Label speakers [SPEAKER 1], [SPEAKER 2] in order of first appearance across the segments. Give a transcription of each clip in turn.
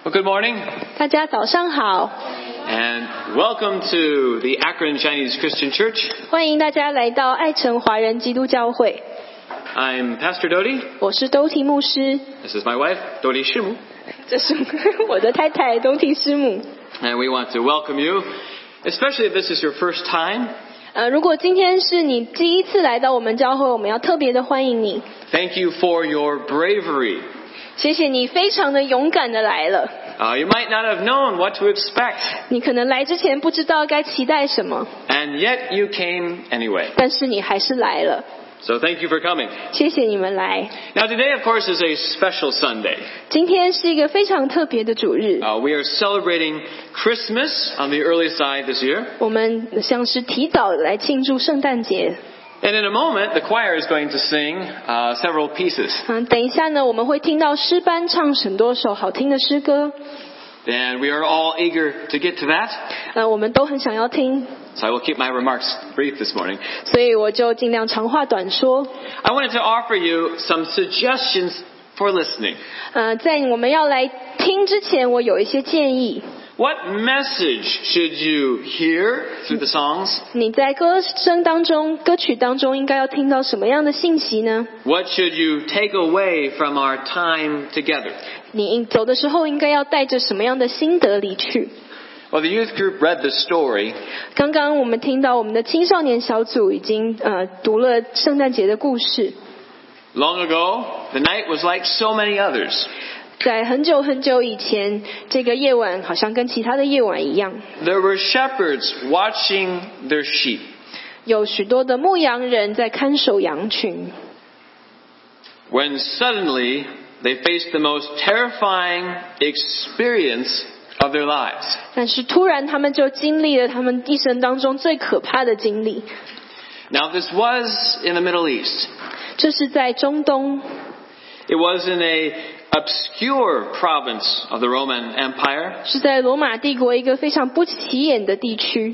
[SPEAKER 1] Well, good morning,
[SPEAKER 2] 大家早上好，
[SPEAKER 1] and welcome to the Akron Chinese Christian Church.
[SPEAKER 2] 欢迎大家来到爱城华人基督教会。
[SPEAKER 1] I'm Pastor Dodi.
[SPEAKER 2] 我是兜提牧师，
[SPEAKER 1] This is my wife, Dodi Shimu.
[SPEAKER 2] 这是我的太太兜提师母。
[SPEAKER 1] And we want to welcome you, especially if this is your first time.
[SPEAKER 2] 如果今天是你第一次来到我们教会，我们要特别的欢迎你。
[SPEAKER 1] Thank you for your bravery.
[SPEAKER 2] 谢谢你非常的勇敢的来了。
[SPEAKER 1] You might not have known what to expect,
[SPEAKER 2] 你可能来之前不知道该期待什么，
[SPEAKER 1] and yet you came anyway.
[SPEAKER 2] 但是你还是来了。
[SPEAKER 1] So thank you for coming.
[SPEAKER 2] 谢谢你们来。
[SPEAKER 1] Now today, of course, is a special Sunday.
[SPEAKER 2] 今天是一个非常特别的主日，
[SPEAKER 1] We are celebrating Christmas on the early side this year.
[SPEAKER 2] 我们像是提早来庆祝圣诞节。
[SPEAKER 1] And in a moment, the choir is going to sing several pieces.
[SPEAKER 2] 等一下呢，我们会听到诗班唱很多首好听的诗歌，
[SPEAKER 1] And we are all eager to get to that.
[SPEAKER 2] 我们都很想要听，
[SPEAKER 1] So I will keep my remarks brief this morning.
[SPEAKER 2] 所以我就尽量长话短说。
[SPEAKER 1] I wanted to offer you some suggestions for listening.
[SPEAKER 2] 在我们要来听之前，我有一些建议。
[SPEAKER 1] What message should you hear through the songs?
[SPEAKER 2] 你在歌曲当中应该要听到什么样的信息呢？
[SPEAKER 1] What should you take away from our time together?
[SPEAKER 2] 你走的时候应该要带着什么样的心得离去？
[SPEAKER 1] Well, the youth group read the story.
[SPEAKER 2] 刚刚我们听到我们的青少年小组已经读了圣诞节的故事。
[SPEAKER 1] Long ago, the night was like so many others.
[SPEAKER 2] 在很久很久以前，这个夜晚好像跟其他的夜晚一样，
[SPEAKER 1] There were shepherds watching their sheep.
[SPEAKER 2] 有许多的牧羊人在看守羊群。
[SPEAKER 1] When suddenly they faced the most terrifying experience of their lives.
[SPEAKER 2] 但是突然他们就经历了他们一生当中最可怕的经历。
[SPEAKER 1] Now this was in the Middle East.
[SPEAKER 2] 这是在中东，
[SPEAKER 1] It was in a obscure province of the Roman Empire.
[SPEAKER 2] 是在罗马帝国一个非常不起眼的地区。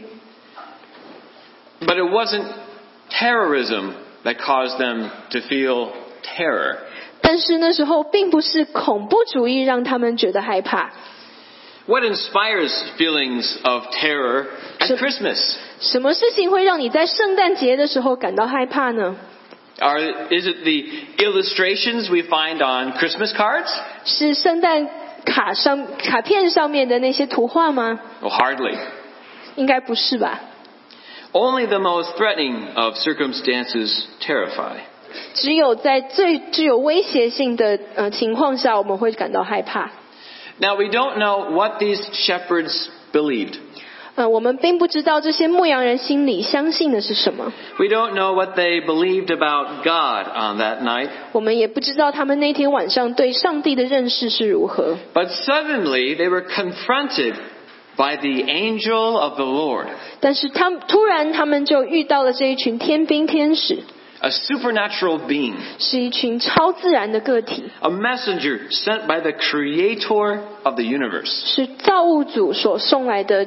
[SPEAKER 1] But it wasn't terrorism that caused them to feel terror.
[SPEAKER 2] 但是那时候并不是恐怖主义让他们觉得害怕。
[SPEAKER 1] What inspires feelings of terror at Christmas?
[SPEAKER 2] 什么事情会让你在圣诞节的时候感到害怕呢？
[SPEAKER 1] Is it the illustrations we find on Christmas cards?
[SPEAKER 2] 是圣诞卡片上面的那些图画吗？
[SPEAKER 1] Oh, hardly.
[SPEAKER 2] 应该不是吧。
[SPEAKER 1] Only the most threatening of circumstances terrify.
[SPEAKER 2] 只有在最具有威胁性的情况下，我们会感到害怕。
[SPEAKER 1] Now we don't know what these shepherds believed.
[SPEAKER 2] 我们并不知道这些牧羊人心里相信的是什么。
[SPEAKER 1] We don't know what they believed about God on that night.
[SPEAKER 2] 我们也不知道他们那天晚上对上帝的认识是如何。
[SPEAKER 1] But suddenly they were confronted by the angel of the Lord,
[SPEAKER 2] 但是突然他们就遇到了这一群天兵天使，
[SPEAKER 1] a supernatural being,
[SPEAKER 2] 是一群超自然的个体，
[SPEAKER 1] a messenger sent by the creator of the universe.
[SPEAKER 2] 是造物主所送来的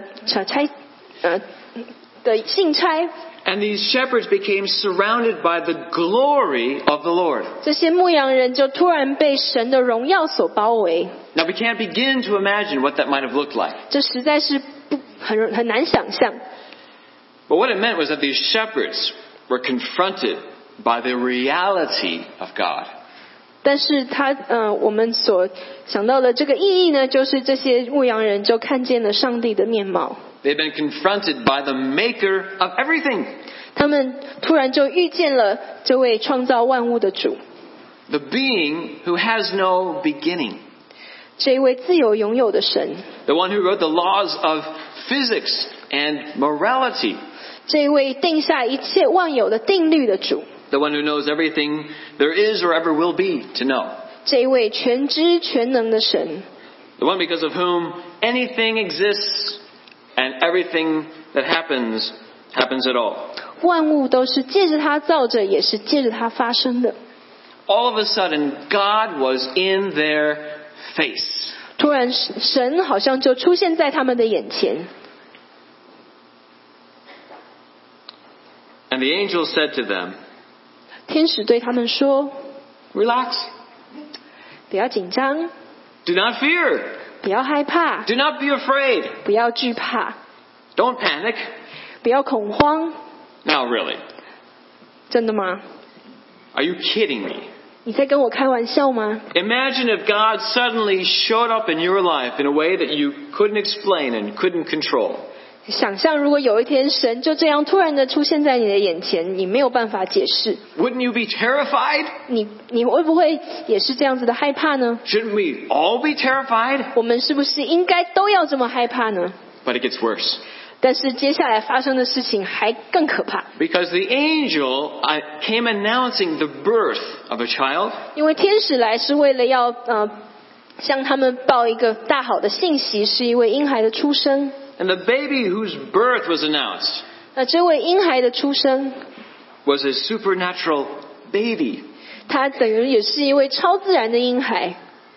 [SPEAKER 2] 的信差。
[SPEAKER 1] And these shepherds became surrounded by the glory of the Lord.
[SPEAKER 2] 这些牧羊人就突然被神的荣耀所包围，
[SPEAKER 1] Now we can't begin to imagine what that might have looked like.
[SPEAKER 2] 这实在是很难想象。
[SPEAKER 1] But what it meant was that these shepherds were confronted by the reality of God.
[SPEAKER 2] 但是我们所想到的这个意义呢，就是这些牧羊人就看见了上帝的面貌。
[SPEAKER 1] They've been confronted by the maker of everything.
[SPEAKER 2] 他们突然就遇见了这位创造万物的主，
[SPEAKER 1] The being who has no beginning.
[SPEAKER 2] 这一位自由拥有的神，
[SPEAKER 1] The one who wrote the laws of physics and morality.
[SPEAKER 2] 这一位定下一切万有的定律的主，
[SPEAKER 1] The one who knows everything there is or ever will be to know.
[SPEAKER 2] 这一位全知全能的神，
[SPEAKER 1] The one because of whom anything exists and everything that happens at all.
[SPEAKER 2] 万物都是借着他造着，也是借着他发生的。
[SPEAKER 1] All of a sudden, God was in their face.
[SPEAKER 2] 突然神好像就出现在他们的眼前，
[SPEAKER 1] And the angel said to them,
[SPEAKER 2] 天使对他们说
[SPEAKER 1] Relax.
[SPEAKER 2] 不要紧张，
[SPEAKER 1] Do not fear.
[SPEAKER 2] 不要害怕，
[SPEAKER 1] Do not be afraid.
[SPEAKER 2] 不要惧怕，
[SPEAKER 1] Don't panic.
[SPEAKER 2] 不要恐慌。
[SPEAKER 1] Now, really,
[SPEAKER 2] 真的吗？
[SPEAKER 1] are you kidding me?
[SPEAKER 2] 你在跟我开玩笑吗？
[SPEAKER 1] Imagine if God suddenly showed up in your life in a way that you couldn't explain and couldn't control.
[SPEAKER 2] 想象如果有一天神就这样突然的出现在你的眼前，你没有办法解释，
[SPEAKER 1] Wouldn't you be terrified?
[SPEAKER 2] 你会不会也是这样子的害怕呢？
[SPEAKER 1] Shouldn't we all be terrified?
[SPEAKER 2] 我们是不是应该都要这么害怕呢？
[SPEAKER 1] But it gets worse.
[SPEAKER 2] 但是接下来发生的事情还更可怕，
[SPEAKER 1] Because the angel came announcing the birth of a child.
[SPEAKER 2] 因为天使来是为了要向他们报一个大好的信息，是一位婴孩的出生。
[SPEAKER 1] And the baby whose birth was announced
[SPEAKER 2] 那这位婴孩的出生，
[SPEAKER 1] was a supernatural baby.
[SPEAKER 2] 他等于也是一位超自然的婴孩。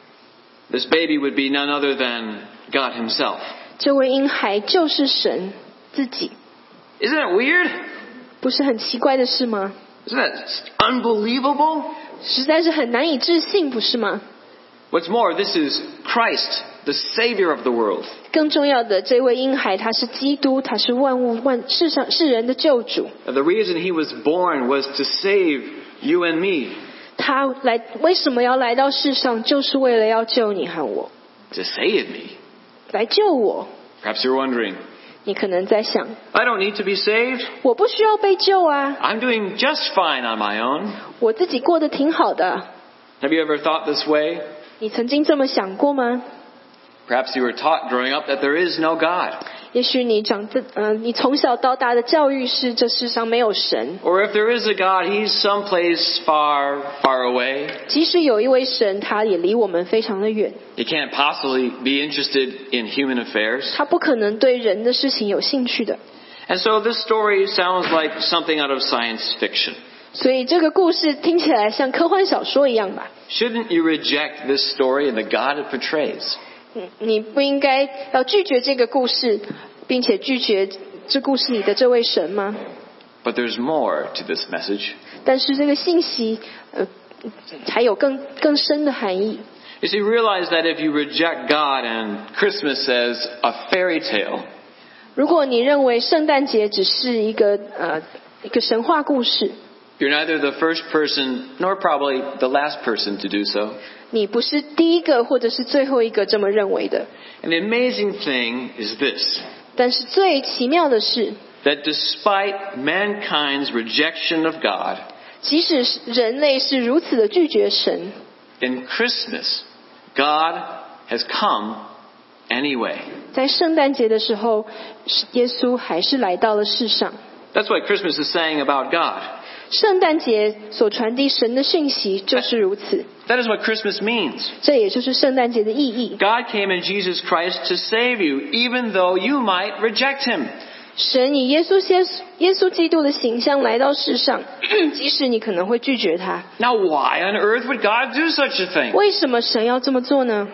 [SPEAKER 1] This baby would be none other than God himself.
[SPEAKER 2] 这位婴孩就是神自己，
[SPEAKER 1] Isn't that weird?
[SPEAKER 2] 不是很奇怪的事吗？
[SPEAKER 1] Isn't that unbelievable?
[SPEAKER 2] 实在是很难以置信，不是吗？
[SPEAKER 1] What's more, this is Christ, the Savior of the world.
[SPEAKER 2] 更重要的，这位婴孩他是基督，他是世人的救主。
[SPEAKER 1] The reason he was born was to save you and me.
[SPEAKER 2] 他为什么要来到世上？就是为了要救你和我，
[SPEAKER 1] To save me.
[SPEAKER 2] 来救我。
[SPEAKER 1] Perhaps you're wondering,
[SPEAKER 2] 你可能在想，
[SPEAKER 1] I don't need to be saved.
[SPEAKER 2] 我不需要被救啊，
[SPEAKER 1] I'm doing just fine on my own.
[SPEAKER 2] 我自己过得挺好的。
[SPEAKER 1] Have you ever thought this way?
[SPEAKER 2] 你曾经这么想过吗？
[SPEAKER 1] Perhaps you were taught growing up that there is no God.
[SPEAKER 2] 也许你你从小到大的教育是这世上没有神，
[SPEAKER 1] Or if there is a God, he's someplace far, far away.
[SPEAKER 2] 即使有一位神，他也离我们非常的远，
[SPEAKER 1] He can't possibly be interested in human affairs.
[SPEAKER 2] 他不可能对人的事情有兴趣的。
[SPEAKER 1] And so this story sounds like something out of science fiction.
[SPEAKER 2] 所以这个故事听起来像科幻小说一样吧？
[SPEAKER 1] Shouldn't you reject this story and the God it portrays?
[SPEAKER 2] 你不应该要拒绝这个故事，并且拒绝这故事里的这位神吗？
[SPEAKER 1] But there's more to this message.
[SPEAKER 2] 但是这个信息，还有更深的含义。
[SPEAKER 1] You see, realize that if you reject God and Christmas as a fairy tale,
[SPEAKER 2] 如果你认为圣诞节只是一个神话故事，
[SPEAKER 1] you're neither the first person nor probably the last person to do so.
[SPEAKER 2] 你不是第一个或者是最后一个这么认为的。
[SPEAKER 1] And the amazing thing is this,
[SPEAKER 2] 但是最奇妙的是，
[SPEAKER 1] that despite mankind's rejection of God,
[SPEAKER 2] 即使人类是如此的拒绝神，
[SPEAKER 1] in Christmas, God has come anyway.
[SPEAKER 2] 在圣诞节的时候，耶稣还是来到了世上。
[SPEAKER 1] That's what Christmas is saying about God.
[SPEAKER 2] 圣诞节所传递神的讯息就是如此，
[SPEAKER 1] That is what Christmas means.
[SPEAKER 2] 这也就是圣诞节的意义。
[SPEAKER 1] God came in Jesus Christ to save you, even though you might reject him.
[SPEAKER 2] 神以耶稣基督的形象来到世上，即使你可能会拒绝他。
[SPEAKER 1] Now, why on earth would God do such a thing?
[SPEAKER 2] 为什么神要这么做呢？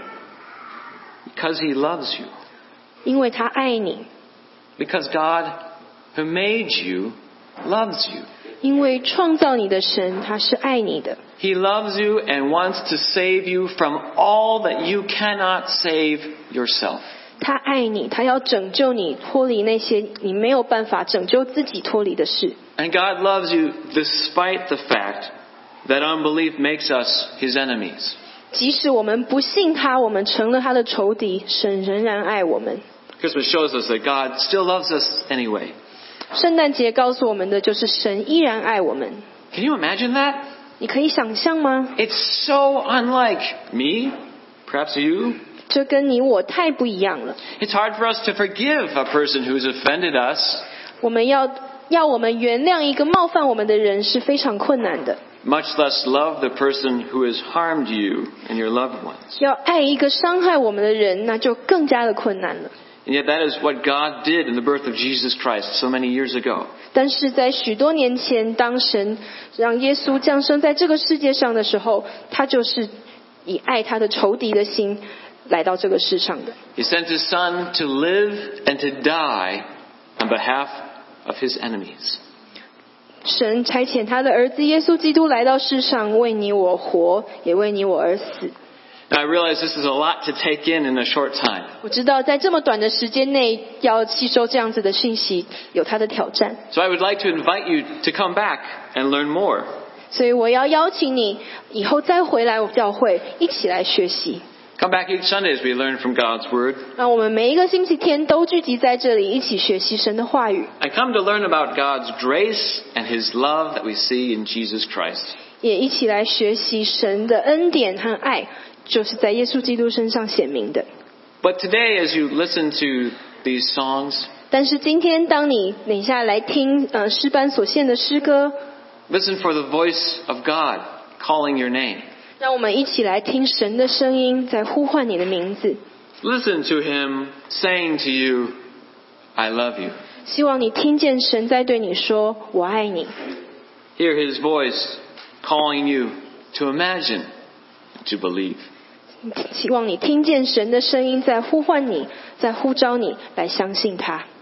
[SPEAKER 1] Because he loves you.
[SPEAKER 2] 因为他爱你，
[SPEAKER 1] Because God, who made you, loves you.
[SPEAKER 2] 因为创造你的神他是爱你的，
[SPEAKER 1] He loves you and wants to save you from all that you cannot save yourself.
[SPEAKER 2] 他爱你，他要拯救你脱离那些你没有办法拯救自己脱离的事。
[SPEAKER 1] And God loves you despite the fact that unbelief makes us his enemies.
[SPEAKER 2] 即使我们不信他，我们成了他的仇敌，神仍然爱我们。
[SPEAKER 1] Christmas shows us that God still loves us anyway.
[SPEAKER 2] 圣诞节告诉我们的就是神依然爱我们。
[SPEAKER 1] Can you imagine that?
[SPEAKER 2] 你可以想象吗？
[SPEAKER 1] It's so unlike me, perhaps you.
[SPEAKER 2] 这跟你我太不一样了。
[SPEAKER 1] It's hard for us to forgive a person who's offended us,
[SPEAKER 2] 我们要我们原谅一个冒犯我们的人是非常困难的，
[SPEAKER 1] much less love the person who has harmed you and your loved ones.
[SPEAKER 2] 要爱一个伤害我们的人，那就更加的困难了。
[SPEAKER 1] And yet that is what God did in the birth of Jesus Christ so many years ago.
[SPEAKER 2] 但是在许多年前，当神让耶稣降生在这个世界上的时候，他就是以爱他的仇敌的心来到这个世上的。
[SPEAKER 1] He sent his son to live and to die on behalf of his enemies.
[SPEAKER 2] 神差遣他的儿子耶稣基督来到世上，为你我活，也为你我而死。
[SPEAKER 1] Now, I realize this is a lot to take in a short time.
[SPEAKER 2] 我知道在这么短的时间内要吸收这样子的讯息有它的挑战，
[SPEAKER 1] So I would like to invite you to come back and learn more.
[SPEAKER 2] 所以我要邀请你以后再回来我教会一起来学习。
[SPEAKER 1] Come back each Sunday as we learn from God's Word.
[SPEAKER 2] 让我们每一个星期天都聚集在这里一起学习神的话语，
[SPEAKER 1] And come to learn about God's grace and His love that we see in Jesus Christ.
[SPEAKER 2] 也一起来学习神的恩典和爱，就是在耶稣基督身上显明的。
[SPEAKER 1] But today, as you listen to these songs,
[SPEAKER 2] 但是今天当你等一下来听诗班所献的诗歌，
[SPEAKER 1] listen for the voice of God calling your name.
[SPEAKER 2] 让我们一起来听神的声音在呼唤你的名字。
[SPEAKER 1] Listen to Him saying to you, I love you.
[SPEAKER 2] 希望你听见神在对你说我爱你，
[SPEAKER 1] Hear His voice calling you to imagine, to believe.
[SPEAKER 2] 希望你听见神的声音在呼唤你，在呼召你来相信他。